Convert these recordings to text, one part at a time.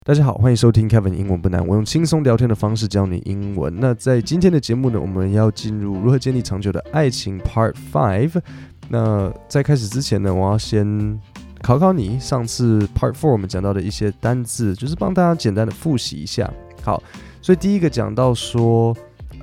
大家好，歡迎收聽 Kevin 英文不難，我用輕鬆聊天的方式教你英文。那在今天的節目呢，我們要進入如何建立長久的愛情 Part 5。那在開始之前呢，我要先考考你上次 Part 4我們講到的一些單字，就是幫大家簡單的複習一下。好，所以第一個講到說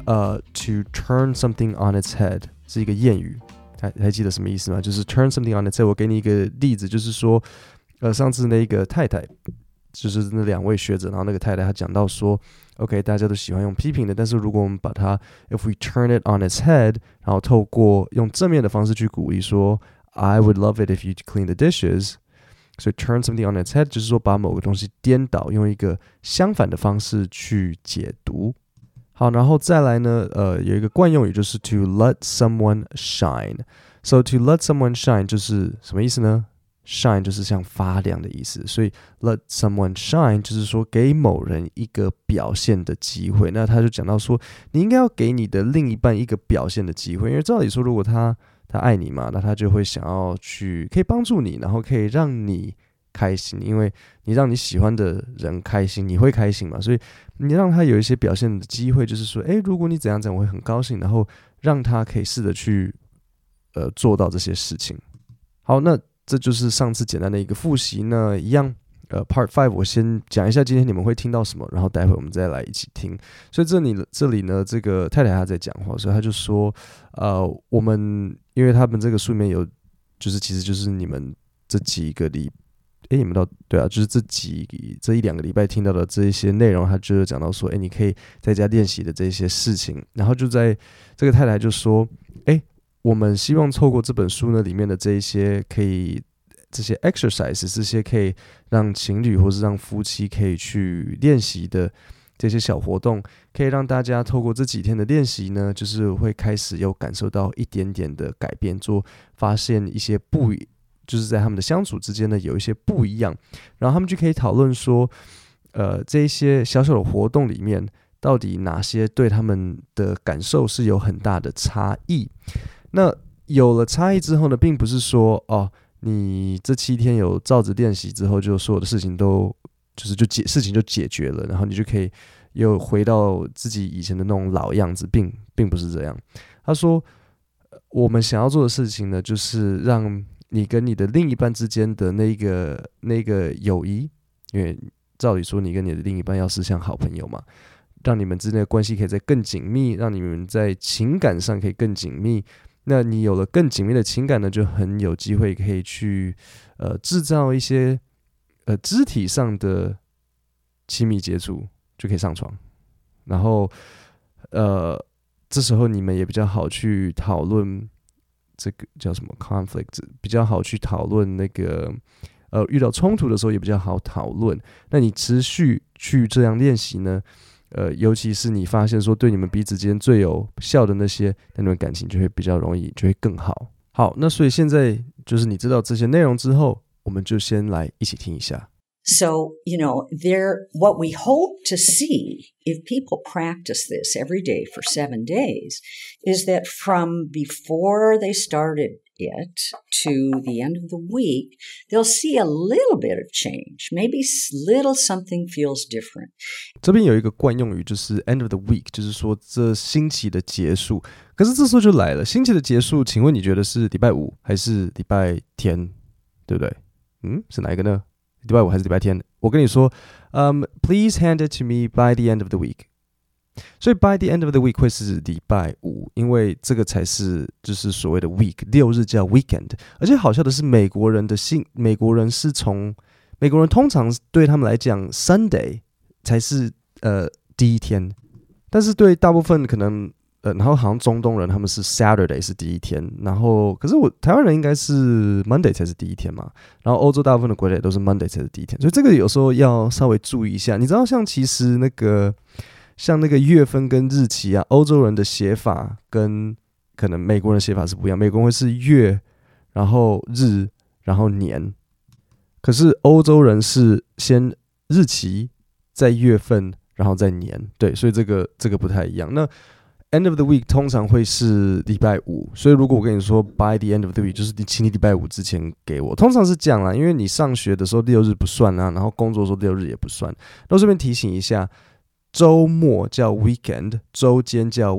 to turn something on its head 是一個諺語，還記得什麼意思嗎？就是 turn something on its head。我給你一個例子，就是說上次那個太太，就是那兩位學者，然後那個太太她講到說 OK 大家都喜歡用批評的，但是如果我們把它 if we turn it on its head， 然後透過用正面的方式去鼓勵說 I would love it if you clean the dishes， 所以 turn something on its head 就是說把某個東西顛倒，用一個相反的方式去解讀。好，然後再來呢有一個慣用語就是 to let someone shine。 So to let someone shine 就是什麼意思呢？Shine 就是像發亮的意思，所以 let someone shine 就是說給某人一個表現的機會。那他就講到說，你應該要給你的另一半一個表現的機會，因為照理說，如果他愛你嘛，那他就會想要去可以幫助你，然後可以讓你開心，因為你讓你喜歡的人開心，你會開心嘛，所以你讓他有一些表現的機會，就是說，如果你怎樣怎樣，我會很高興，然後讓他可以試着去做到這些事情。好，那這就是上次簡單的一個複習呢，一樣Part 5我先講一下今天你們會聽到什麼，然後待會我們再來一起聽。所以這裡呢，這個太太她在講話，所以她就說我們因為他們這個書裡面有就是其實就是你們這幾個你們對啊，就是這一兩個禮拜聽到的這一些內容，他就是講到說你可以在家練習的這些事情，然後就在這個太太就說我們希望透過這本書呢裡面的這一些這些 exercise， 這些可以讓情侶或是讓夫妻可以去練習的這些小活動，可以讓大家透過這幾天的練習呢，就是會開始有感受到一點點的改變，發現一些就是在他們的相處之間呢有一些不一樣，然後他們就可以討論說這一些小小的活動裡面到底哪些對他們的感受是有很大的差異。那有了差異之後呢，並不是說你這7天有照着練習之後，就所有的事情事情就解決了，然後你就可以又回到自己以前的那種老樣子，並不是這樣。他說，我們想要做的事情呢，就是讓你跟你的另一半之間的那個友誼，因為照理說你跟你的另一半要是像好朋友嘛，讓你們之間的關係可以再更緊密，讓你們在情感上可以更緊密。那你有了更緊密的情感呢，就很有機會可以去製造一些肢體上的親密接觸，就可以上床。然後這時候你們也比較好去討論這個叫什麼 conflict， 比較好去討論那個遇到衝突的時候也比較好討論。那你持續去這樣練習呢，尤其是你發現說對你們彼此間最有效的那些，那你們感情就会比較容易，就會更好。好，那所以現在就是你知道這些內容之後，我們就先來一起聽一下。 So, what we hope to see if people practice this every day for 7 days is that from before they started it to the end of the week, they'll see a little bit of change. Maybe little something feels different. 這邊有一個慣用語，就是 end of the week， 就是說這星期的結束。可是這時候就來了，星期的結束，請問你覺得是禮拜五還是禮拜天？對不對？是哪一個呢？禮拜五還是禮拜天？我跟你說，please hand it to me by the end of the week。所以 by the end of the week 會是禮拜五，因為這個才是就是所謂的 week， 6日叫 weekend。而且好笑的是，美國人通常對他們來講 Sunday 才是第一天，但是對大部分可能然後好像中東人他們是 Saturday 是第一天，然後可是台灣人應該是 Monday 才是第一天嘛，然後歐洲大部分的國家也都是 Monday 才是第一天，所以這個有時候要稍微注意一下。你知道其實像那個月份跟日期啊，歐洲人的寫法跟可能美國人的寫法是不一樣，美國人會是月，然後日，然後年，可是歐洲人是先日期，再月份，然後再年，對，所以這個不太一樣。那 end of the week 通常會是禮拜五，所以如果我跟你說 by the end of the week 就是請你禮拜五之前給我，通常是這樣啦，因為你上學的時候6日不算啊，然後工作的時候6日也不算。那順便提醒一下，週末叫 weekend， 週間叫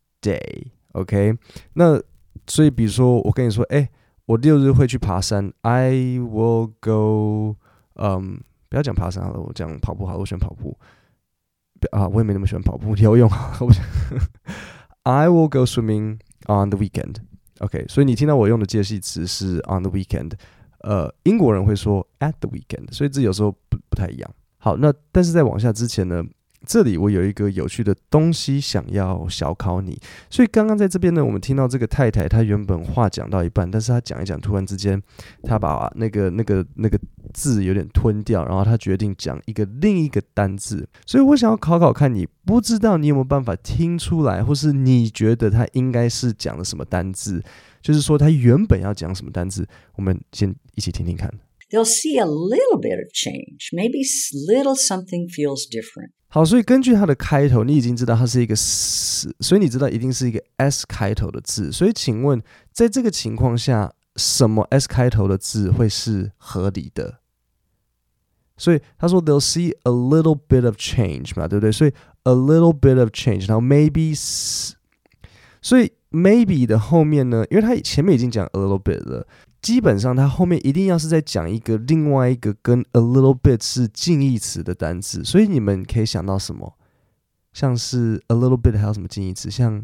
weekday，OK？ 那所以比如說我跟你說，我6日會去爬山 ，I will go，不要講爬山好了，我講跑步好了，我選跑步。我也沒那麼喜歡跑步，游泳。I will go swimming on the weekend. OK， 所以你聽到我用的介系詞是 on the weekend。英國人會說 at the weekend， 所以這有時候不太一樣。好，那但是在往下之前呢，這裡我有一個有趣的東西想要小考你。所以剛剛在這邊呢，我們聽到這個太太，她原本話講到一半，但是她講一講，突然之間她把那個字有點吞掉，然後她決定講另一個單字。所以我想要考考看你，不知道你有沒有辦法聽出來，或是你覺得她應該是講的什麼單字，就是說她原本要講什麼單字。我們先一起聽聽看。 They'll see a little bit of change. Maybe little something feels different. 好，所以根據它的開頭，你已經知道它是一個 S， 所以你知道一定是一個 S 開頭的字。所以請問，在這個情況下，什麼 S 開頭的字會是合理的？所以他說 they'll see a little bit of change 嘛，對不對？所以 a little bit of change， 然後 maybe， 所以 maybe 的後面呢，因為他前面已經講 a little bit 了。基本上，它後面一定要是在講另外一個跟 a little bit 是近義詞的單字，所以你們可以想到什麼？像是 a little bit 還有什麼近義詞？像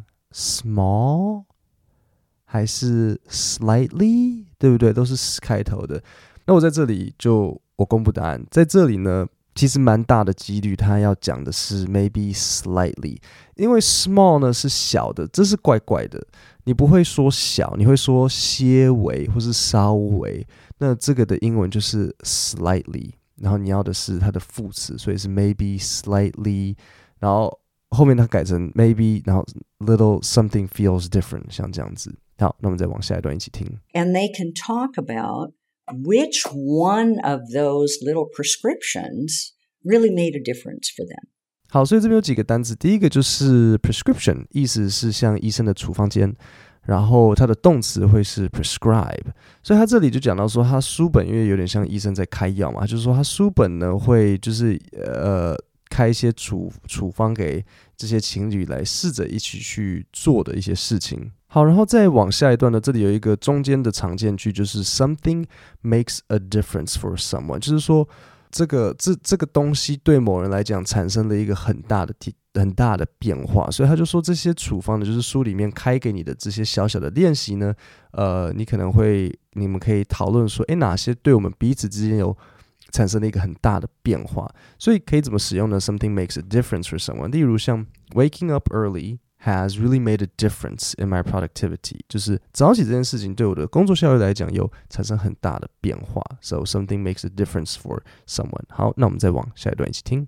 small 還是 slightly， 對不對？都是 s 開頭的。那我在這裡我公布答案，在這裡呢，其實蠻大的幾率他要講的是 maybe slightly， 因為 small 呢是小的，這是怪怪的。你不會說小，你會說些微或是稍微。那這個的英文就是 slightly， 然後你要的是它的副詞，所以是 maybe slightly， 然後後面它改成 maybe， 然後 little something feels different， 像這樣子。好，那我們再往下一段一起聽。 And they can talk about which one of those little prescriptions really made a difference for them. 好，所以這邊有幾個單字，第一個就是 prescription， 意思是像醫生的處方笺，然後它的動詞會是 prescribe， 所以他這裡就講到說，他書本因為有點像醫生在開藥嘛，就是說他書本呢會就是開一些處方給這些情侶來試着一起去做的一些事情。好，然後再往下一段呢，這裡有一個中間的常見句，就是 something makes a difference for someone， 就是說這個東西對某人來講產生了一個很大的變化，所以他就說這些處方呢，就是書裡面開給你的這些小小的練習呢，你們可以討論說，哪些對我們彼此之間有產生了一個很大的變化，所以可以怎麼使用呢？ Something makes a difference for someone， 例如像 waking up early has really made a difference in my productivity， 就是早起這件事情對我的工作效率來講有產生很大的變化。So something makes a difference for someone。好，那我們再往下一段一起聽。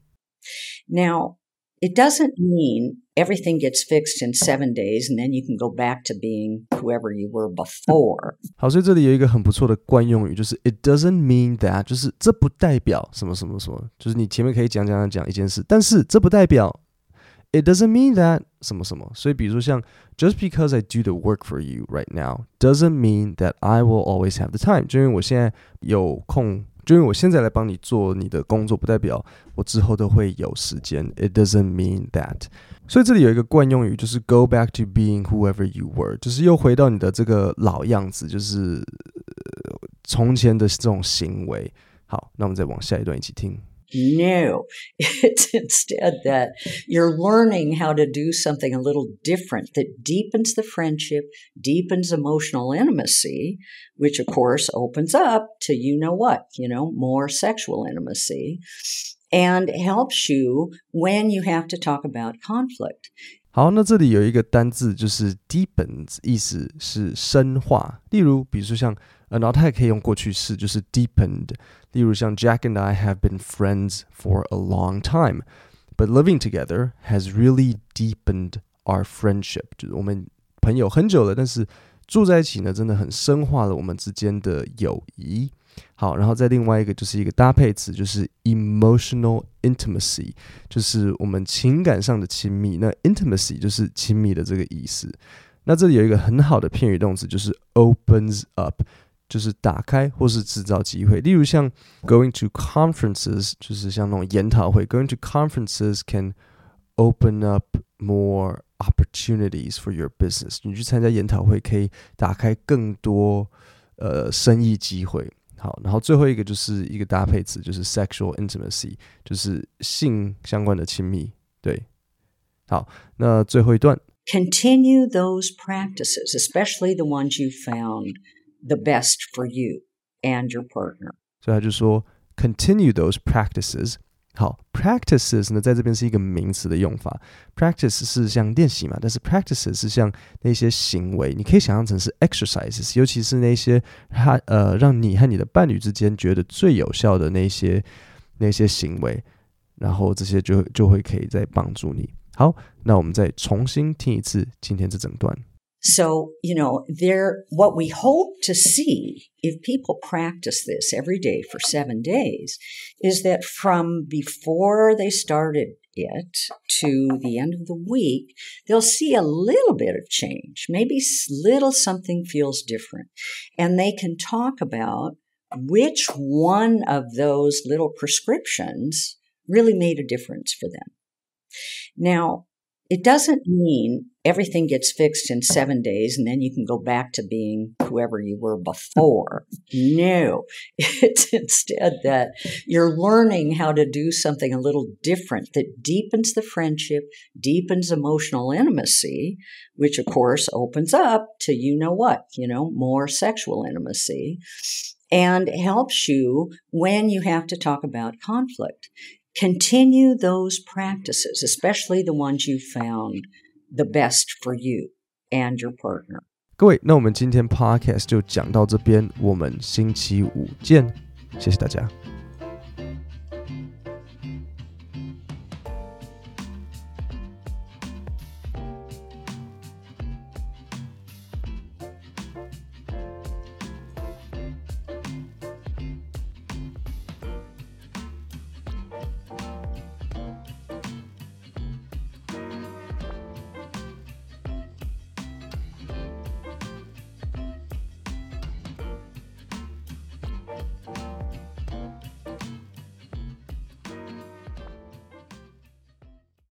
Now, it doesn't mean everything gets fixed in 7 days and then you can go back to being whoever you were before. 好，所以這裡有一個很不錯的慣用語，就是 it doesn't mean that， 就是這不代表什麼什麼什麼，就是你前面可以講一件事，但是這不代表It doesn't mean that 什麼什麼，所以比如說像 Just because I do the work for you right now doesn't mean that I will always have the time， 就因為我現在有空，就因為我現在來幫你做你的工作，不代表我之後都會有時間。It doesn't mean that。所以這裡有一個慣用語，就是 go back to being whoever you were， 就是又回到你的這個老樣子，就是從前的這種行為。好，那我們再往下一段一起聽。 No, it's instead that you're learning how to do something a little different that deepens the friendship, deepens emotional intimacy, which of course opens up to more sexual intimacy, and helps you when you have to talk about conflict. 好，那這裡有一個單字就是 deepens， 意思是深化。例如，比如說像然後它也可以用過去式，就是 deepened。例如像 Jack and I have been friends for a long time, but living together has really deepened our friendship。就是我們朋友很久了，但是住在一起呢，真的很深化了我們之間的友誼。 好，然後再另外一個就是一個搭配詞，就是 emotional intimacy， 就是我們情感上的親密。那 intimacy 就是親密的這個意思。那這裡有一個很好的片語動詞，就是 opens up， 就是打開或是製造機會。例如像 going to conferences， 就是像那種研討會 ，going to conferences can open up more opportunities for your business。你去參加研討會可以打開更多生意機會。好，然後最後一個就是一個搭配詞，就是 sexual intimacy， 就是性相關的親密。对，好，那最後一段。 Continue those practices, especially the ones you found the best for you and your partner. 所以他就說 continue those practices。好 ，practices 呢，在這邊是一個名詞的用法。practice 是像練習嘛，但是 practices 是像那些行為，你可以想象成是 exercises， 尤其是那些讓你和你的伴侶之間覺得最有效的那些行為，然後這些就会可以再幫助你。好，那我們再重新聽一次今天這整段。 So, what we hope to see if people practice this every day for 7 days is that from before they started it to the end of the week, they'll see a little bit of change. Maybe little something feels different. And they can talk about which one of those little prescriptions really made a difference for them. Now, it doesn't mean everything gets fixed in 7 days and then you can go back to being whoever you were before. No, it's instead that you're learning how to do something a little different that deepens the friendship, deepens emotional intimacy, which of course opens up to more sexual intimacy, and helps you when you have to talk about conflict. Continue those practices, especially the ones you found the best for you and your partner. 各位，那我們今天 podcast 就講到這邊，我們星期五見，謝謝大家。